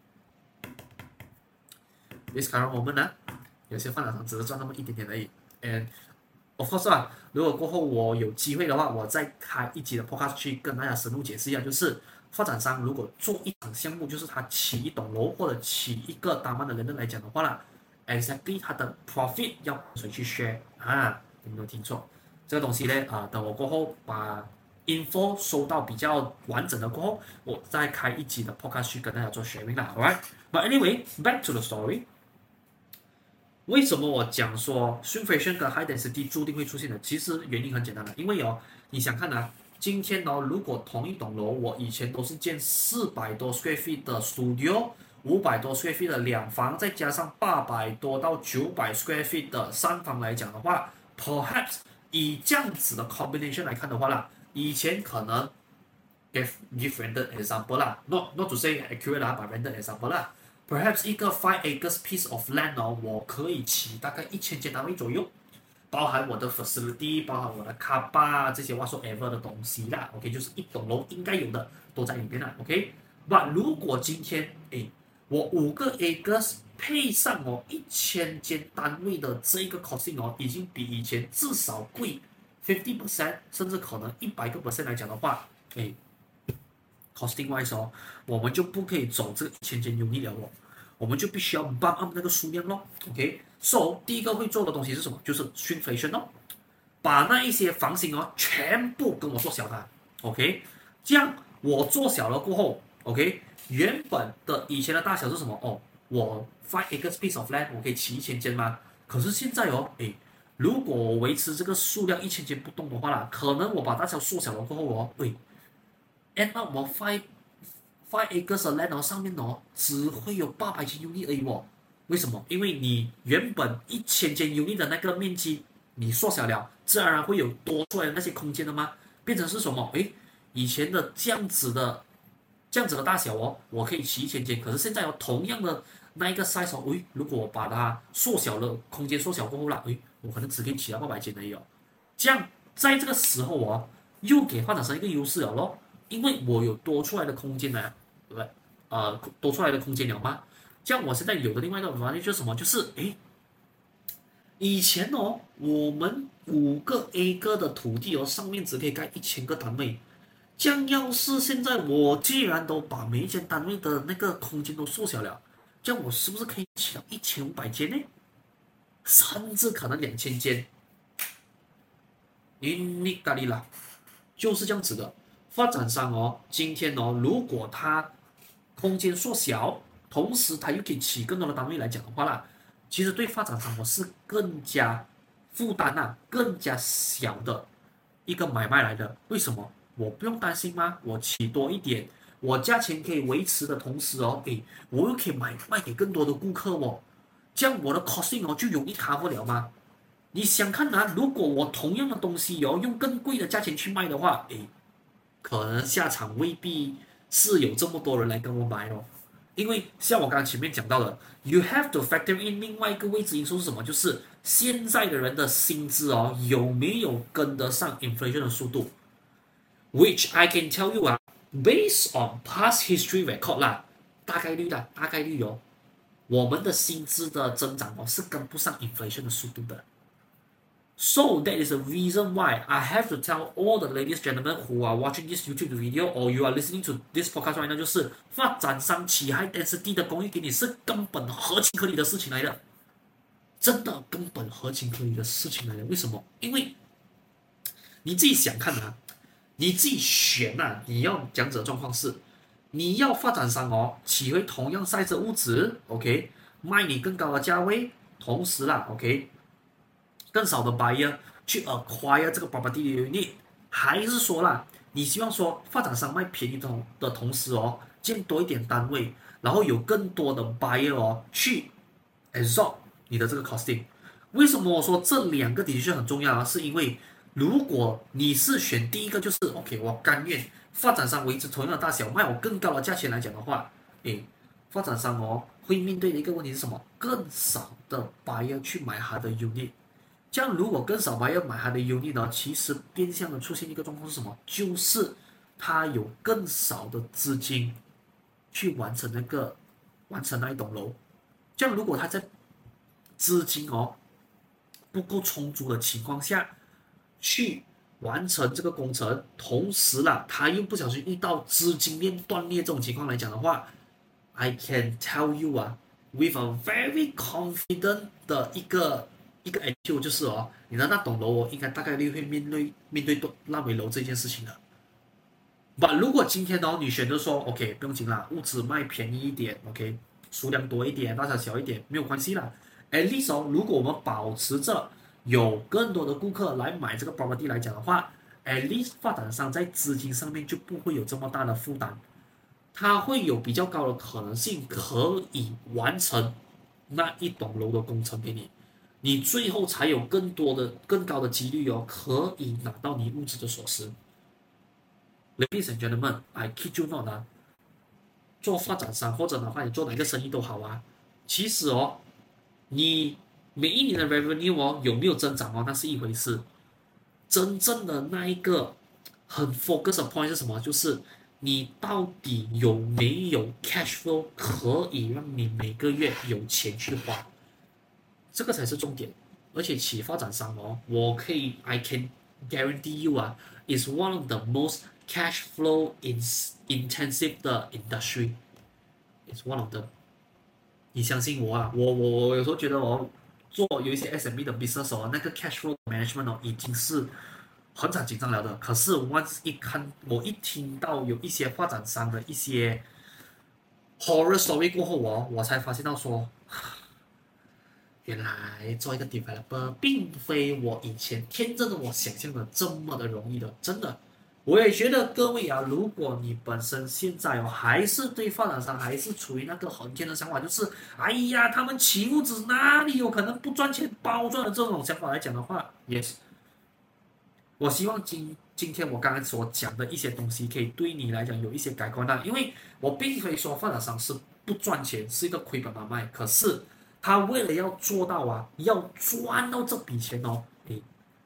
也是看到我們呢，有些發展商只是賺那麼一點點而已。And of course 啊，如果過後我有機會的話，我再開一集的 podcast 去跟大家深入解釋一下，就是發展商如果做一場項目，就是他起一棟樓或者起一個單萬的人來講的話啦 ，exactly 他的 profit 要誰去 share 啊？有沒有聽錯？這個東西呢，啊、呃，等我過後把 info 收到比較完整的過後，我再開一集的 podcast 去跟大家做 sharing 啦 ，alright？But anyway, back to the story。為什麼我講說 shrinkflation 跟 high density 注定會出現的？其實原因很簡單的，因為哦，你想看啊，今天哦，如果同一棟樓，我以前都是建四百多 square feet 的 studio， 五百多 square feet 的兩房，再加上八百多到九百 square feet 的三房來講的話 ，perhaps 以這樣子的 combination 來看的話啦，以前可能 give give random example 啦 ，not not to say accurate 啦，but random example 啦。Perhaps 一個 five acres piece of land 哦，我可以起大概一千間單位左右，包含我的 facility， 包含我的 car park 這些 whatsoever 的東西啦。OK， 就是一棟樓應該有的都在裡面啦。OK，but 如果今天誒，我五個 acres 配上我一千間單位的這一個 costing 哦，已經比以前至少貴 fifty percent， 甚至可能一百個 percent 來講的話，誒。costing wise 哦，我們就不可以走這個一千間 unit 了哦，我們就必須要 bump up 那個數量咯。OK，so 第一個會做的東西是什麼？就是 shrinkflation 哦，把那一些房型哦全部跟我做小它。OK， 這樣我做小了過後 ，OK， 原本的以前的大小是什麼？哦，我 five acres piece of land 我可以起一千間嗎？可是現在哦，誒，如果我維持這個數量一千間不動的話啦，可能我把大小縮小了過後哦，喂。And 那我 five five acres 的 land 上面哦，只會有八百間 unit 而已哦。為什麼？因為你原本一千間 unit 的那個面積你縮小了，自然而然會有多出來的那些空間的嗎？變成是什麼？誒，以前的這樣子的這樣子的大小哦，我可以起一千間，可是現在有、哦、同樣的那一個 size 哦，誒，如果我把它縮小了，空間縮小過後啦，誒，我可能只可以起到八百間而已哦。這樣在這個時候哦，又給發展商一個優勢了咯。因為我有多出來的空間呢，對不對？呃，多出來的空間了嗎？這樣我現在有的另外一個問題就是什麼？就是誒，以前哦，我們五個 acre 的土地哦，上面只可以蓋一千個單位。這樣要是現在我既然都把每一間單位的那個空間都縮小了，這樣我是不是可以起到一千五百間呢？甚至可能兩千間？你咖喱啦，就是這樣子的。發展商哦，今天哦，如果他空間縮小，同時他又可以起更多的單位來講的話啦，其實對發展商我是更加負擔啊，更加小的一個買賣來的。為什麼？我不用擔心嗎？我起多一點，我價錢可以維持的同時哦，誒，我又可以買賣給更多的顧客哦，這樣我的 costing 哦就容易 cover 了嗎？你想看啊，如果我同樣的東西哦，用更貴的價錢去賣的話，誒。可能下場未必是有這麼多人來跟我買哦，因為像我剛剛前面講到的 ，you have to factor in 另外一個位置因素是什麼？就是現在的人的薪資哦有沒有跟得上 inflation 的速度 ？Which I can tell you 啊 ，based on past history record 啦，大概率的，大概率哦，我們的薪資的增長哦是跟不上 inflation 的速度的。So that is the reason why I have to tell all the ladies and gentlemen who are watching this YouTube video or you are listening to this podcast right now，就是發展商起 high density 的公寓給你是根本合情合理的事情來的，真的根本合情合理的事情來的。為什麼？因為你自己想看啊，你自己選啊，你要講者狀況是，你要發展商哦起回同樣 size 的屋子 ，OK， 賣你更高的價位，同時啦 ，OK。更少的 buyer 去 acquire 這個 property unit， 還是說啦，你希望說發展商賣便宜的的同時哦，建多一點單位，然後有更多的 buyer 哦去 absorb 你的這個 costing。為什麼我說這兩個的確很重要啊？是因為如果你是選第一個，就是 OK， 我甘願發展商維持同樣的大小，賣我更高的價錢來講的話，誒，發展商哦會面對的一個問題是什麼？更少的 buyer 去買他的 unit。這樣如果更少 buyer 買他的 unit 呢，其實變相的出現一個狀況是什麼？就是他有更少的資金去完成那個完成那一棟樓。這樣如果他在資金哦不夠充足的情況下去完成這個工程，同時啦，他又不小心遇到資金鏈斷裂這種情況來講的話 ，I can tell you 啊 ，with a very confident 的一個一個 attitude 就是哦，你的那棟樓哦，應該大概率會面對面對爛尾樓這件事情的。但如果今天哦，你選擇說 OK 不用緊啦，物資賣便宜一點 ，OK 數量多一點，大小小一點沒有關係啦。At least 哦，如果我們保持着有更多的顧客來買這個 property 來講的話 ，at least 發展商在資金上面就不會有這麼大的負擔，它會有比較高的可能性可以完成那一棟樓的工程給你，你最後才有更多的、更高的幾率哦，可以拿到你物質的鎖匙。Ladies and gentlemen, I kid you not 啊，做發展商或者哪怕你做哪個生意都好啊，其實哦，你每一年的 revenue 哦有沒有增長哦，那是一回事。真正的那一個很 focus 的 point 是什麼？就是你到底有沒有 cash flow 可以讓你每個月有錢去花，這個才是重點。而且企業發展商哦，我可以 I can guarantee you 啊 ，is one of the most cash flow intensive 的 industry. It's one of them. 你相信我啊，我我我有時候覺得我做有一些 S M E 的 business 哦，那個 cash flow management 哦已經是很緊張了的。可是 once 一看，我一聽到有一些發展商的一些 horror story 過後哦，我才發現到說，原來做一個 developer 並非我以前天真的我想象的這麼的容易的，真的。我也覺得各位啊，如果你本身現在哦還是對發展商還是處於那個很天的想法，就是哎呀，他們起屋子哪裡有可能不賺錢包賺的這種想法來講的話 ，yes， 我希望今今天我剛才所講的一些東西可以對你來講有一些改觀的，因為我並非說發展商是不賺錢，是一個虧本買賣，可是他為了要做到啊，要賺到這筆錢哦，誒。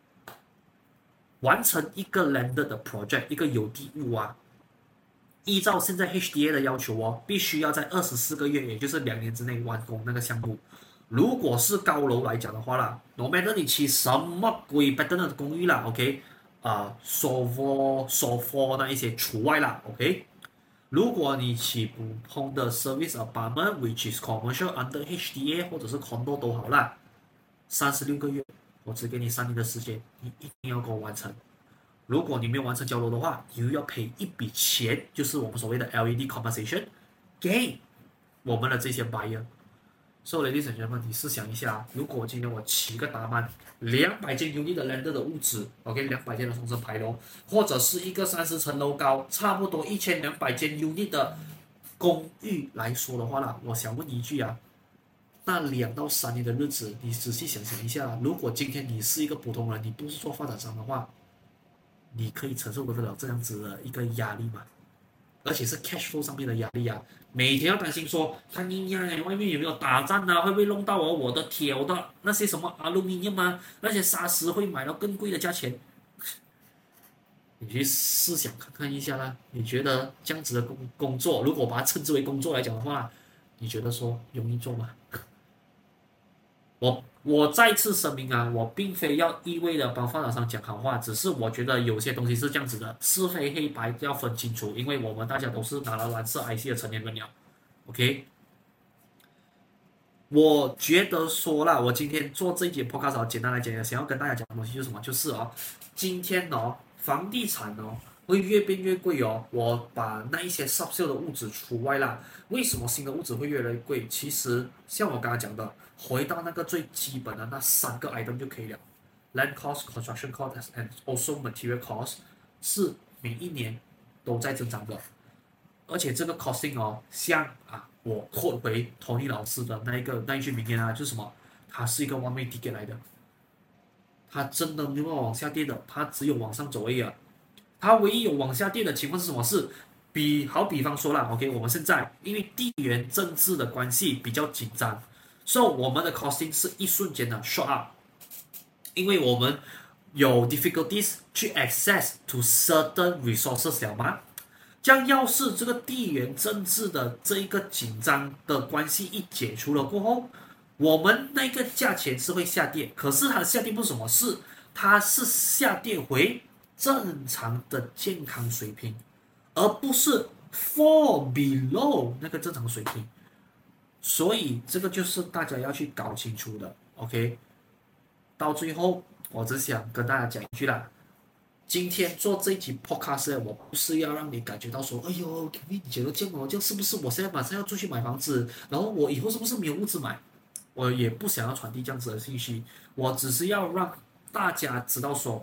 完成一個 landed 的 project， 一個有地物啊，依照現在 H D A 的要求哦，必須要在二十四個月，也就是兩年之內完工那個項目。如果是高樓來講的話啦 ，no matter 你起什麼鬼 pattern 的公寓啦 ，OK， 啊 ，soft soft 那一些除外啦 ，OK。如果你起普通的 service apartment，which is commercial under H D A 或者是 condo 都好啦，三十六個月。我只給你三年的時間，你一定要給我完成。如果你沒有完成交樓的話，你又要賠一筆錢，就是我們所謂的 L E D compensation 給我們的這些 buyer。所以，ladies and gentlemen，你試想一下，如果今天我起個大單，兩百間 unit 的 landed 的物質 ，OK， 兩百間的雙層牌樓，或者是一個三十層樓高，差不多一千兩百間 unit 的公寓來說的話啦，我想問一句啊。那兩到三年的日子，你仔細想想一下，如果今天你是一個普通人，你不是做發展商的話，你可以承受得了這樣子的一個壓力嗎？而且是 cash flow 上面的壓力啊，每天要擔心說，看你呀，外面有沒有打仗啊，會不會弄到我我的鐵，我的那些什麼 aluminium 啊，那些砂石會買到更貴的價錢。你去試想看看一下啦，你覺得這樣子的工工作，如果把它稱之為工作來講的話，你覺得說容易做嗎？我我再次聲明啊，我並非要一味的幫發展商講好話，只是我覺得有些東西是這樣子的，是非黑白要分清楚，因為我們大家都是拿了藍色 I C 的成年人了 ，OK？ 我覺得說啦，我今天做這一節 podcast 簡單來講，想要跟大家講的東西就是什麼？就是哦，今天哦，房地產哦會越變越貴哦，我把那一些 subsale 的物質除外啦。為什麼新的物質會越來越貴？其實像我剛剛講的，回到那個最基本的那三個 item 就可以了 ：land cost、construction cost and also material cost。 是每一年都在增長的，而且這個 costing 哦，像啊，我 quote 回 Tony 老師的那一個那一句名言啊，就是什麼？它是一個 one way ticket 來的，它真的沒有往下跌的，它只有往上走而已啊。它唯一有往下跌的情況是什麼？是比好比方說啦 ，OK， 我們現在因為地緣政治的關係比較緊張，所以我們的 costing 是一瞬間的 shot up， 因為我們有 difficulties 去 access to certain resources 了嗎？這樣要是這個地緣政治的這一個緊張的關係一解除了過後，我們那個價錢是會下跌，可是它的下跌不是什麼事，它是下跌回正常的健康水平，而不是 fall below 那個正常水平。所以這個就是大家要去搞清楚的 ，OK？ 到最後，我只想跟大家講一句啦。今天做這一集 podcast， 我不是要讓你感覺到說，哎呦，你覺得這樣哦，這樣是不是我現在馬上要出去買房子，然後我以後是不是沒有屋子買？我也不想要傳遞這樣子的信息，我只是要讓大家知道說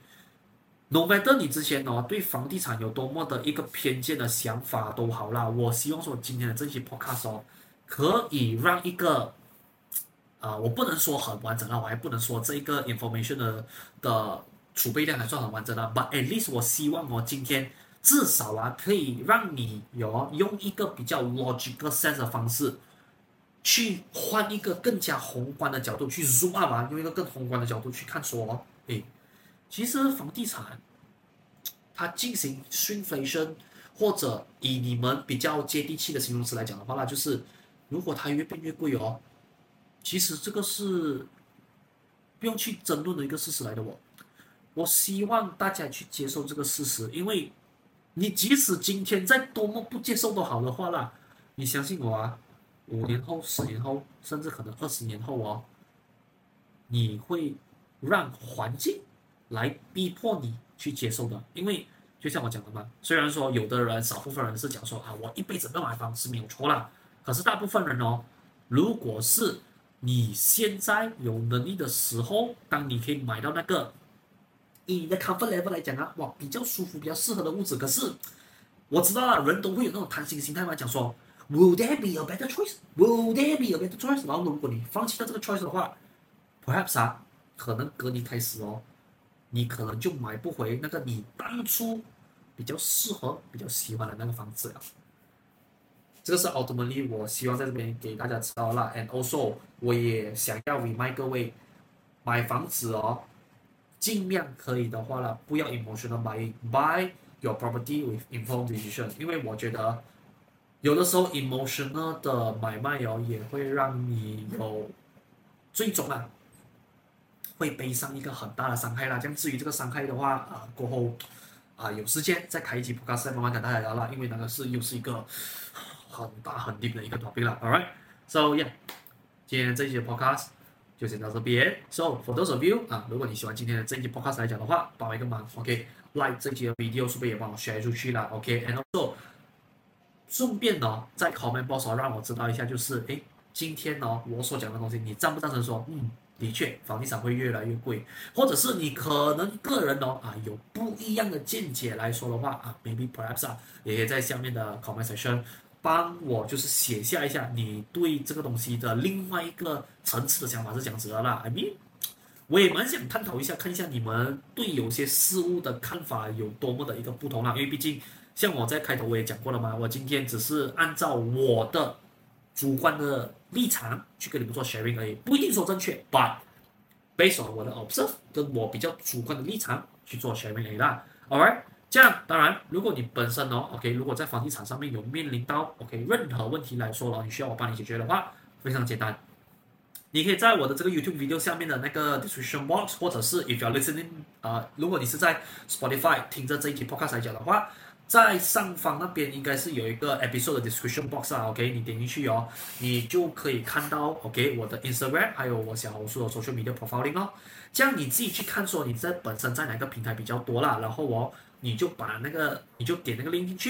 ，OK，no matter 你之前哦對房地產有多麼的一個偏見的想法都好啦，我希望說今天的這期 podcast 哦，可以讓一個，呃，我不能說很完整啦，我還不能說這一個 information 的的儲備量還算很完整啦 ，but at least 我希望我今天至少啊可以讓你有用一個比較 logical sense 的方式。去換一個更加宏觀的角度去 zoom up 啊，用一個更宏觀的角度去看說，誒，其實房地產它進行 shrinkflation， 或者以你們比較接地氣的形容詞來講的話，那就是如果它越變越貴哦，其實這個是不用去爭論的一個事實來的哦。我希望大家去接受這個事實，因為你即使今天再多麼不接受都好的話啦，你相信我啊。五年後、十年後，甚至可能二十年後哦，你會讓環境來逼迫你去接受的。因為就像我講的嘛，雖然說有的人少部分人是講說啊，我一輩子不要買房是沒有錯啦，可是大部分人哦，如果是你現在有能力的時候，當你可以買到那個以你的 comfort level 來講啊，哇，比較舒服、比較適合的屋子，可是我知道啦，人都會有那種貪心心態嘛，講說。Will there be a better choice? Will there be a better choice? 然後如果你放棄了這個 choice 的話 ，perhaps 啊，可能隔年開始哦，你可能就買不回那個你當初比較適合、比較喜歡的那個房子了。這個是 ultimately 我希望在這邊給大家知道啦。And also 我也想要 remind 各位，買房子哦，盡量可以的話啦，不要 emotional buying, buy your property with informed decision， 因為我覺得。有的時候 emotional 的買賣哦，也會讓你有最終啊，會背上一個很大的傷害啦。這樣至於這個傷害的話，啊、呃、過後啊、呃、有時間再開一集 podcast 再慢慢跟大家聊啦，因為那個是又是一個很大很 deep 的一個 topic 啦。Alright, so yeah，今天這一集 podcast 就先到這邊。So for those of you 啊，如果你喜歡今天的這一集 podcast 來講的話，幫我一個忙 ，OK，like 這一集的 video 是不是也幫我 share 出去啦 ？OK，and also。順便哦，在 comment box 讓我知道一下，就是誒，今天哦我所講的東西，你贊不贊成說，嗯，的確房地產會越來越貴，或者是你可能個人哦啊有不一樣的見解來說的話啊 ，maybe perhaps 啊，也可以在下面的 comment section 幫我就是寫下一下你對這個東西的另外一個層次的想法是這樣子的啦。I mean， 我也蠻想探討一下，看一下你們對有些事物的看法有多麼的一個不同啦，因為畢竟。像我在開頭我也講過了嘛，我今天只是按照我的主觀的立場去跟你們做 sharing 而已，不一定說正確 ，but based on 我的 observe 跟我比較主觀的立場去做 sharing 而已啦。Alright， 這樣當然，如果你本身哦 ，OK， 如果在房地產上面有面臨到 OK 任何問題來說了，你需要我幫你解決的話，非常簡單，你可以在我的這個 YouTube video 下面的那個 description box， 或者是 if you're listening， 呃，如果你是在 Spotify 聽着這一集 podcast 來講的話。在上方那邊應該是有一個 episode 的 description box 啊 ，OK， 你點進去哦，你就可以看到 OK 我的 Instagram 還有我小紅書的 social media profiling 哦，這樣你自己去看說你在本身在哪個平台比較多啦，然後哦你就把那個你就點那個 link 進去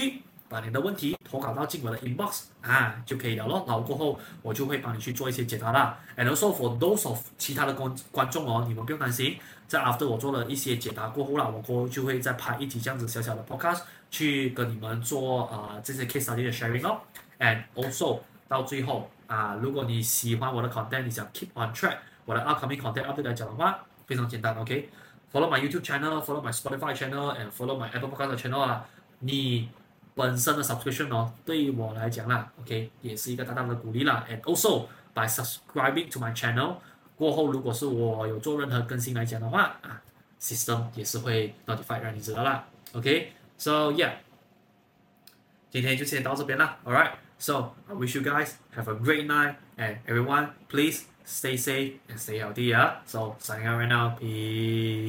把你的問題投稿到進我的 inbox 啊就可以了咯，然後過後我就會幫你去做一些解答啦。And also for those of 其他的觀觀眾哦，你們不用擔心，在 after 我做了一些解答過後啦，我過後就會再拍一集這樣子小小的 podcast 去跟你們做啊、呃、這些 case study 的 sharing 咯。And also 到最後啊，如果你喜歡我的 content， 你想 keep on track 我的 upcoming content update 來講的話，非常簡單 ，OK。Follow my YouTube channel，follow my Spotify channel，and follow my Apple Podcast channel 啊。你本身的 subscription 哦，對於我來講啦 ，OK， 也是一個大大的鼓勵啦。And also by subscribing to my channel 過後，如果是我有做任何更新來講的話啊 ，system 也是會 notify 讓你知道啦。OK，so yeah， 今天就先到這邊啦。Alright，so I wish you guys have a great night and everyone please stay safe and stay healthy. Yeah. So signing out right now. Peace.